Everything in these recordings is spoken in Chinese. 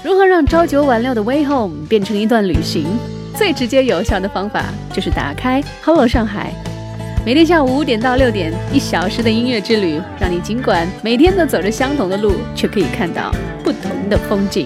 如何让朝九晚六的 Way Home 变成一段旅行？最直接有效的方法就是打开 Hello 上海，每天下午5点到6点，1小时的音乐之旅，让你尽管每天都走着相同的路，却可以看到不同的风景。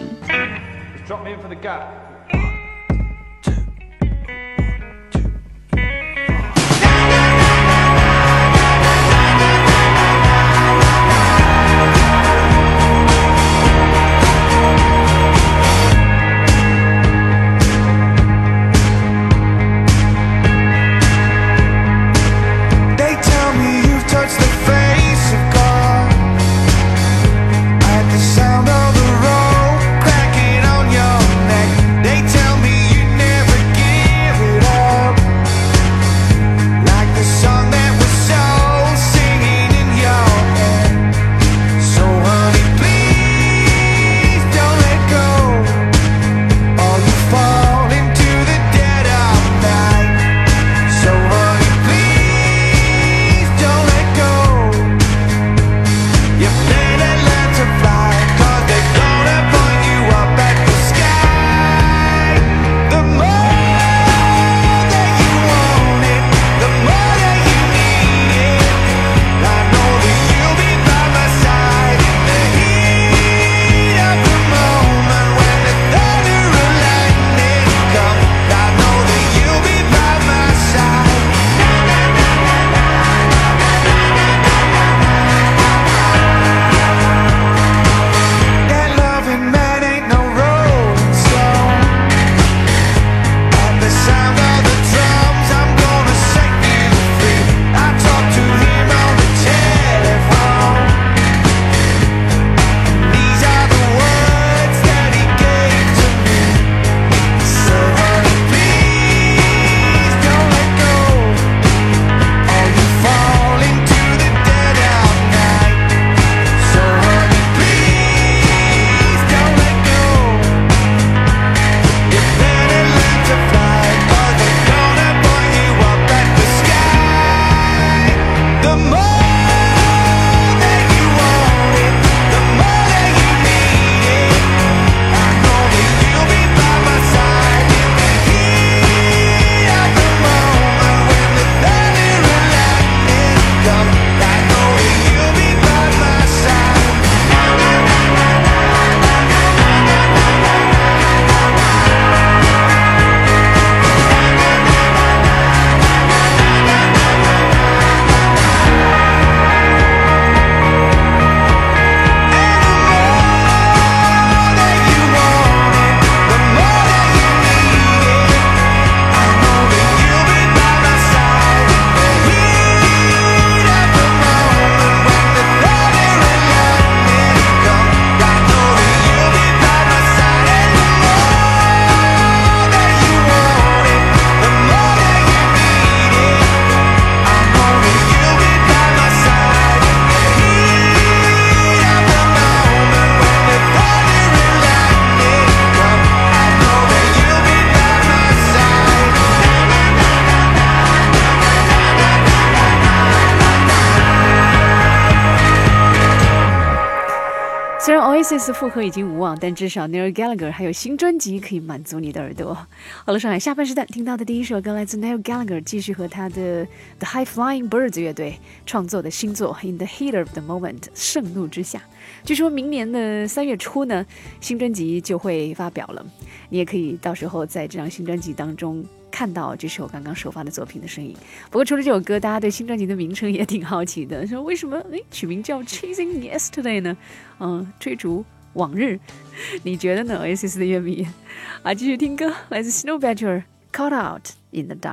虽然 Oasis 复合已经无望，但至少 Noel Gallagher 还有新专辑可以满足你的耳朵。好了，上海下半时段听到的第一首歌来自 Noel Gallagher， 继续和他的 The High Flying Birds 乐队创作的新作 In the Heat of the Moment 盛怒之下。据说明年的3月初呢，新专辑就会发表了，你也可以到时候在这张新专辑当中看到这首刚刚首发的作品的身影。不过除了这首歌，大家对新专辑的名称也挺好奇的，说为什么取名叫 Chasing Yesterday 呢？追逐往日，你觉得呢 ？Oasis 的乐迷啊，继续听歌，来自 Snow Badger Caught Out in the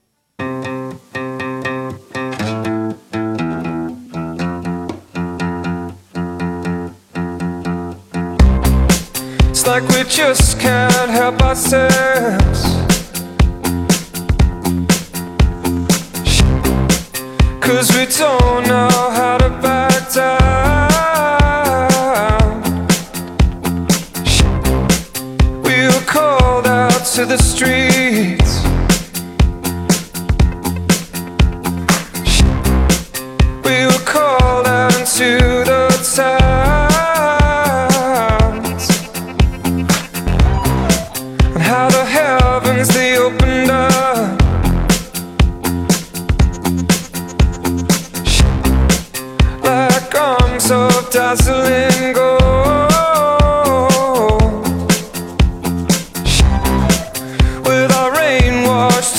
Dark。It's like we just can't help ourselves, 'cause we don't know how to back down. We were called out to the streets, we were called out into the towns.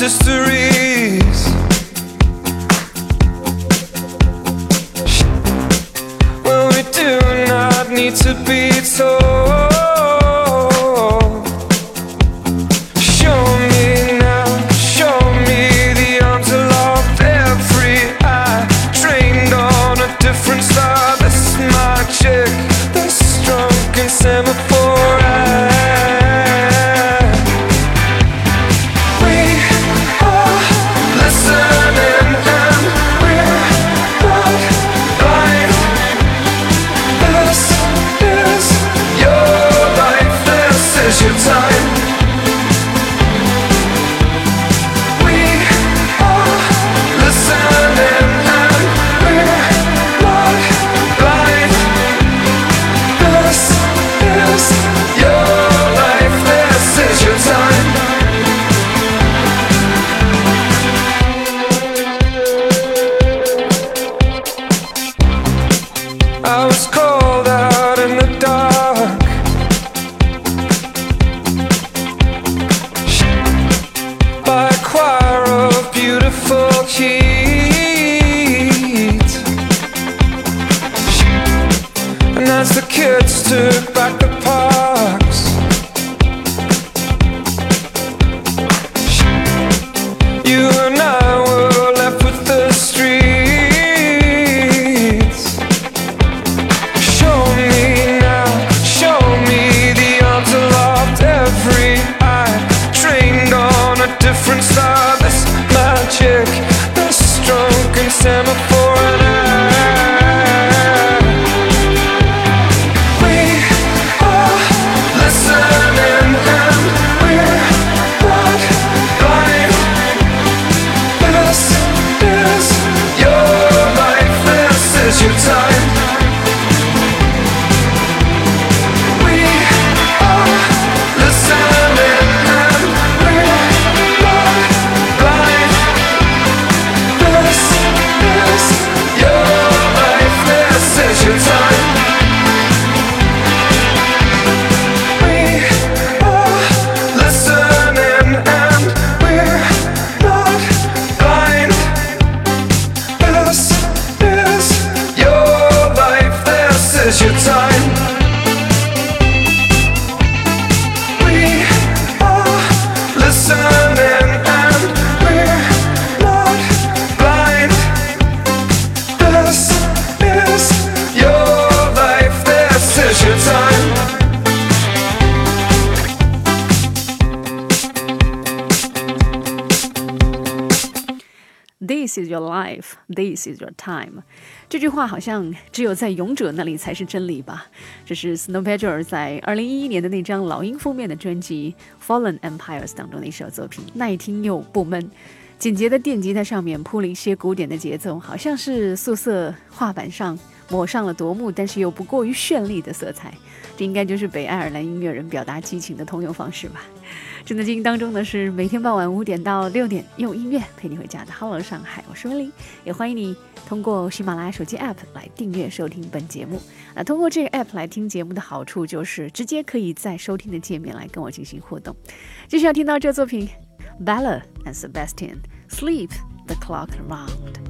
mysteries. Well, we do not need to be told. Show me now, show me the arms aloft, every eye trained on a different star. This magic, this drunken semaphore eye. We are listening and we're not blind. This is your life, this is your time. We are listening and we're not blind. This is your life, this is your time. I was called out in the dark, by a choir of beautiful heat. And as the kids took back the parks, you and I were left with the streets. Show me now, show me the arms aloft, every eye trained on a different star. This magic, this drunken semaphore and we are listening and we're not blind. This is your life, this is your time. We are listening and we're not blind. This is your life, this is your time. We are listening and we're not blind. This is your life, this is your time. We are listening and we're not blind. This is your life, this is your time. This is your life, this is your time。这句话好像只有在勇者那里才是真理吧？这是 Snow Patrol 在2011年的那张老鹰封面的专辑《Fallen Empires》当中的一首作品，耐听又不闷。简洁的电吉他上面铺了一些古典的节奏，好像是素色画板上抹上了夺目但是又不过于绚丽的色彩。这应该就是北爱尔兰音乐人表达激情的通用方式吧。正在进行当中的是每天傍晚5点到6点，用音乐陪你回家的 Hello 上海，我是温妮，也欢迎你通过喜马拉雅手机 App 来订阅收听本节目。那通过这个 App 来听节目的好处就是直接可以在收听的界面来跟我进行互动。继续要听到这作品 Bella and Sebastian Sleep the Clock Around。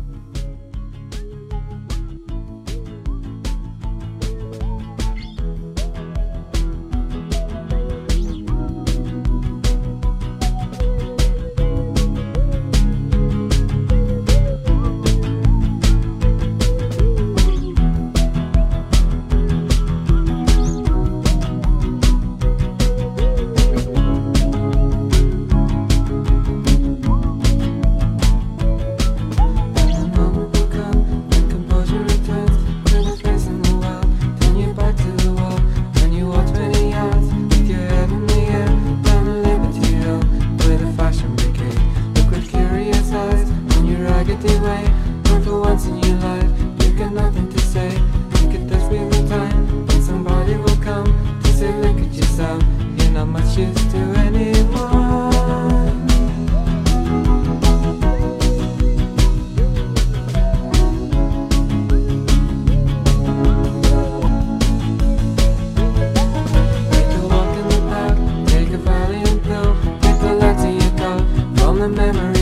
the memory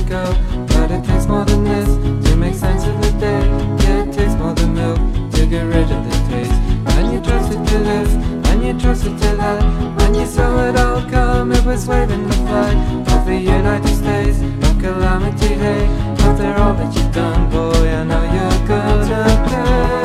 is waving the flag of the United States of calamity. Hey, after all that you've done, boy, I know you're gonna pay.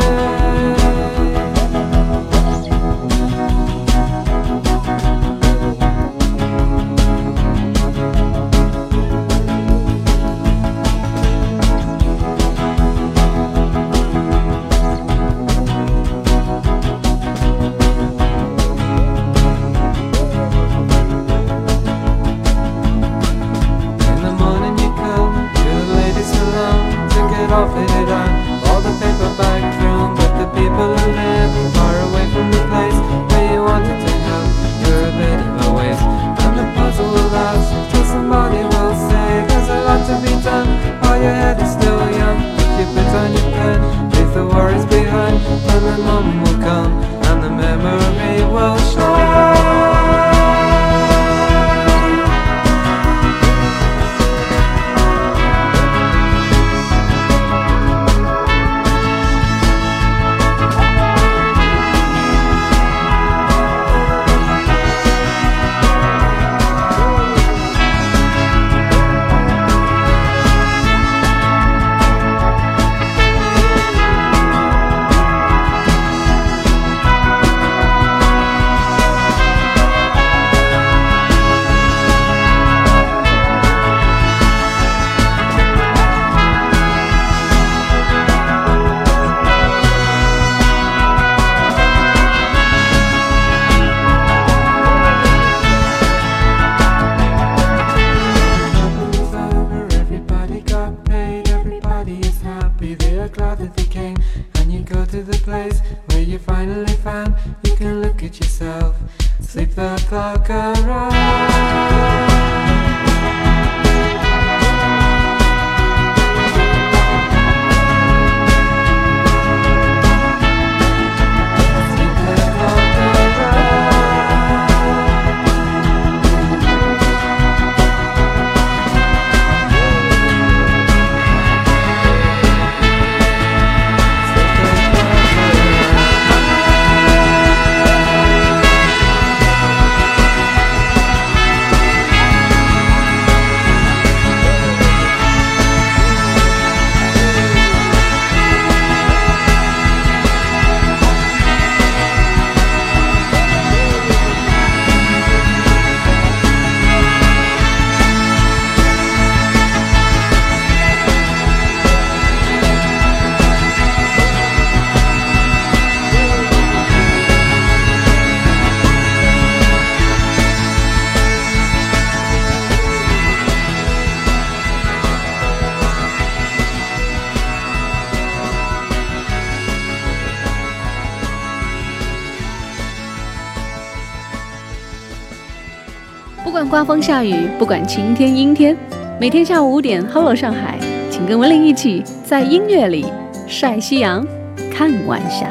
不管刮风下雨，不管晴天阴天，每天下午5点 ，Hello 上海，请跟文玲一起在音乐里晒夕阳，看晚霞。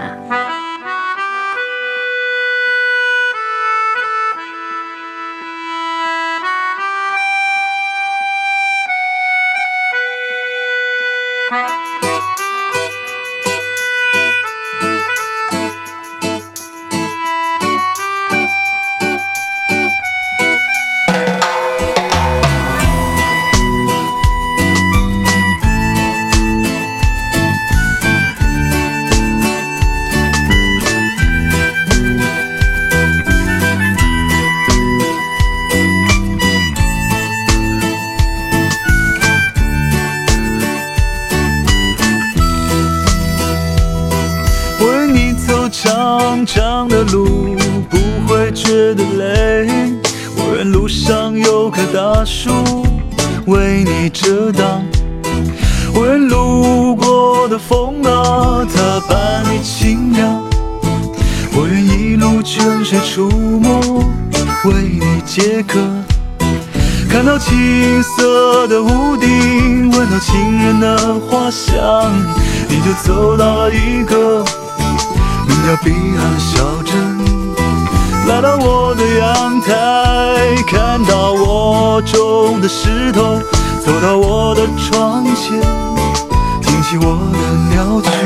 长长的路不会觉得累，我愿路上有棵大树为你遮挡，我愿路过的风啊它伴你清凉，我愿一路泉水出没为你解渴，看到青色的屋顶，闻到情人的花香，你就走到了一个名叫彼岸的小镇，来到我的阳台，看到我种的石头，走到我的窗前，听起我的鸟曲。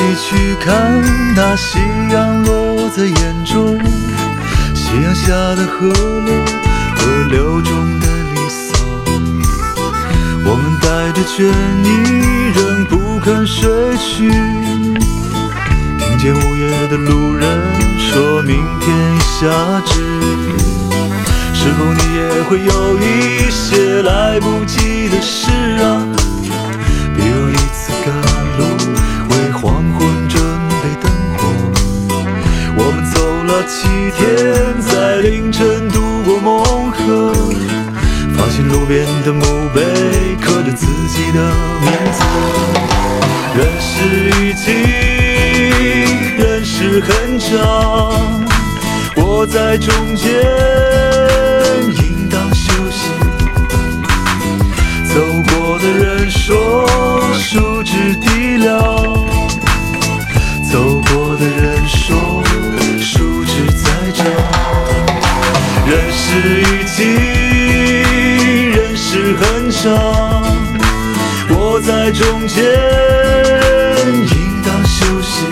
去看那夕阳落在眼中，夕阳下的河流，河流中的离骚。我们带着倦意仍不肯睡去，听见午夜的路人说明天已夏至，是否你也会有一些来不及的事啊？比如一次赶路，为黄昏准备灯火。我们走了7天，在凌晨渡过梦河，发现路边的墓碑刻着自己的名字。人世已经，人世很长，我在中间应当休息。走过的人说树枝低了，走过的人说树枝在长。人世已经，人世很长，我在中间应当休息。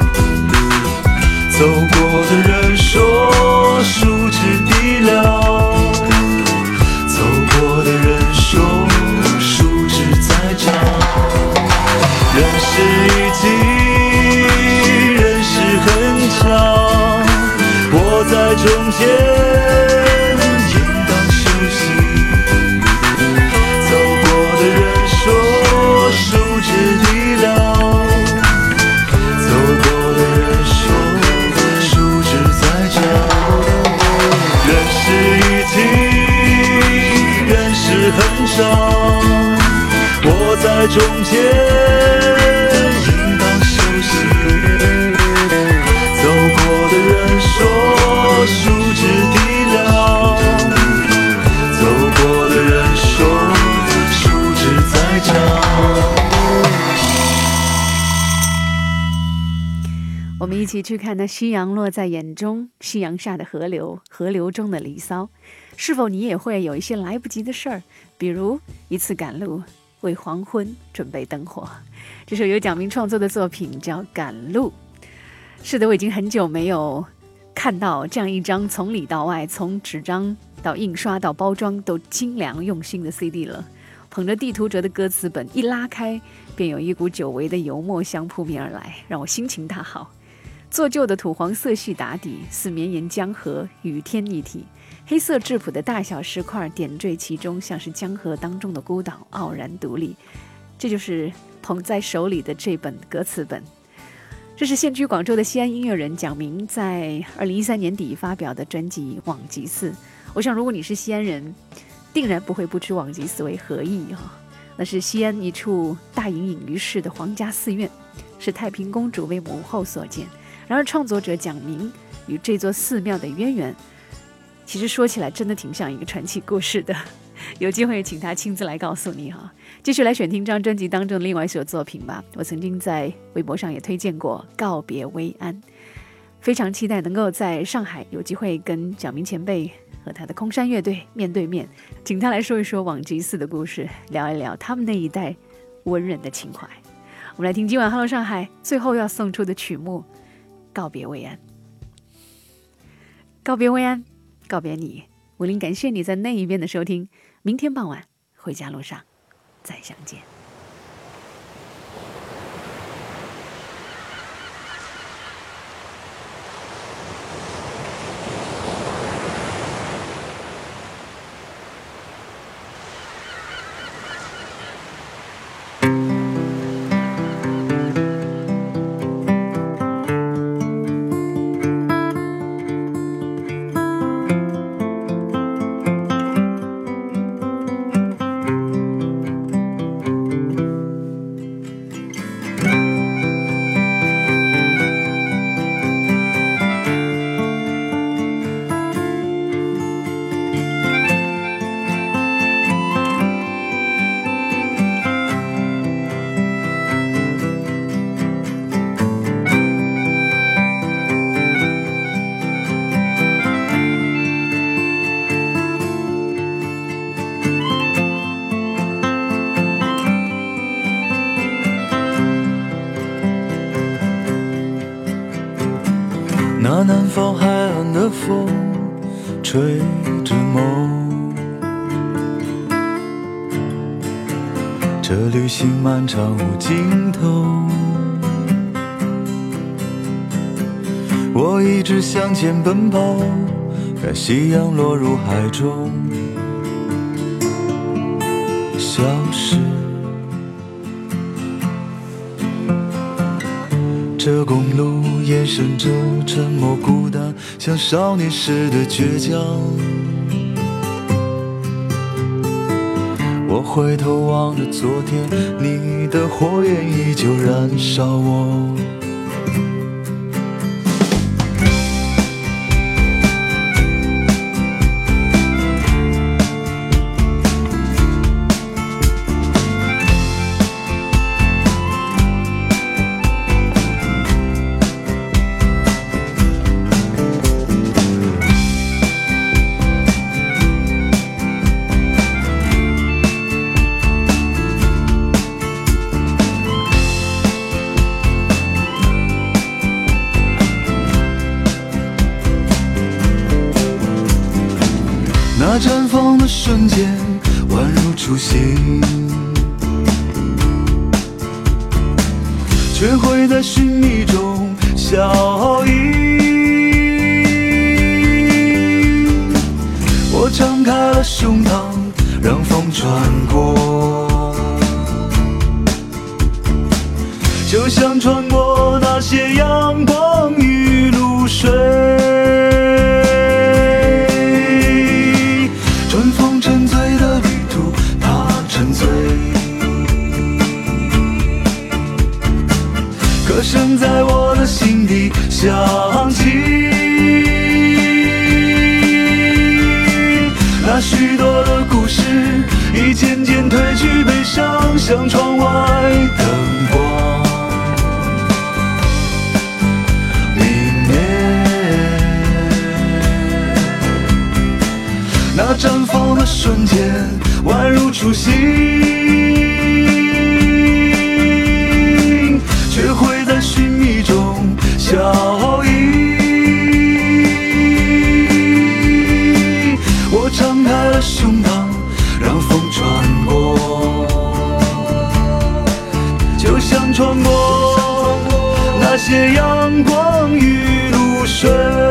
走过的人说树枝低了，走过的人说树枝在长。人世已经，人世很长，我在中间应当休息。走过的人说树枝低了，走过的人说树枝在长。人世已经，人世很长，我在中间应当休息。走过的人说树枝低了，走过的人说树枝在长。 我们一起去看那夕阳落在眼中，夕阳下的河流，河流中的离骚。是否你也会有一些来不及的事儿，比如一次赶路，为黄昏准备灯火。这首由蒋明创作的作品叫《赶路》。是的，我已经很久没有看到这样一张从里到外，从纸张到印刷到包装都精良用心的 CD 了。捧着地图折的歌词本一拉开，便有一股久违的油墨香扑面而来，让我心情大好。做旧的土黄色系打底，似绵延江河，与天一体。黑色质朴的大小石块点缀其中，像是江河当中的孤岛，傲然独立。这就是捧在手里的这本歌词本。这是现居广州的西安音乐人蒋明在2013年底发表的专辑《往极寺》。我想如果你是西安人，定然不会不知往极寺为何意那是西安一处大隐隐于世的皇家寺院，是太平公主为母后所建。然而创作者蒋明与这座寺庙的渊源，其实说起来真的挺像一个传奇故事的。有机会请他亲自来告诉你继续来选听这张专辑当中的另外一首作品吧。我曾经在微博上也推荐过《告别薇安》，非常期待能够在上海有机会跟蒋明前辈和他的空山乐队面对面，请他来说一说往极寺的故事，聊一聊他们那一代文人的情怀。我们来听今晚 Hello 上海最后要送出的曲目《告别薇安》。告别薇安，告别你，武林感谢你在那一边的收听。明天傍晚回家路上再相见。 南方海岸的风吹着梦，这旅行漫长无尽头，我一直向前奔跑，看夕阳落入海中消失。这公路延伸着沉默孤单，像少年时的倔强。我回头望着昨天，你的火焰依旧燃烧我。那绽放的瞬间宛如初心，却会在寻觅中消翳。我敞开了胸膛，让风穿过，就像穿过那些阳光与露水。春风沉醉的旅途，它沉醉，歌声在我的心底响起。那许多的故事已渐渐褪去悲伤，像窗外灯光明灭。那绽放的瞬间宛如初心，却会在寻觅中消翳。我敞开了胸膛，让风穿过，就像穿过那些阳光与露水。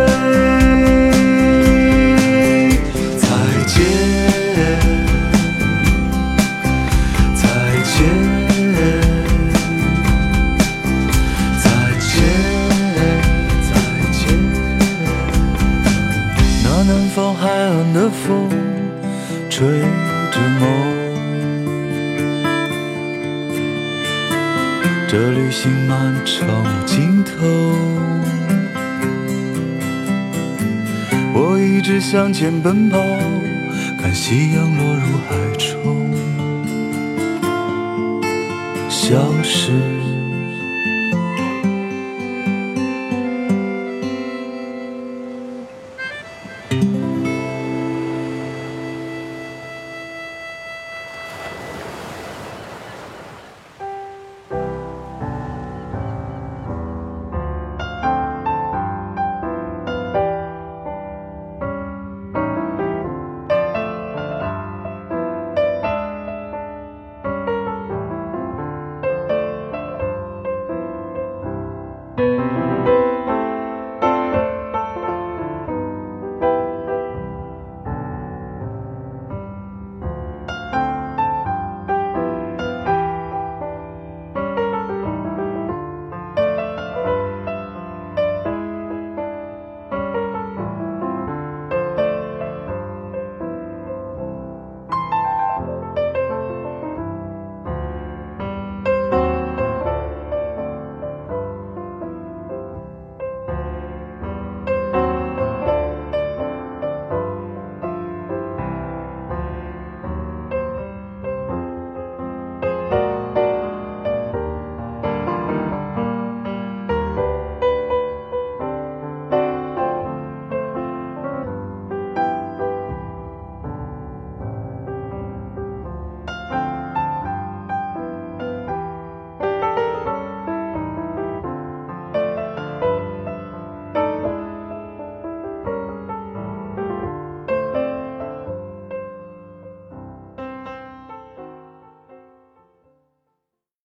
海岸的风吹着梦，这旅行漫长无尽头，我一直向前奔跑，看夕阳落入海中消失。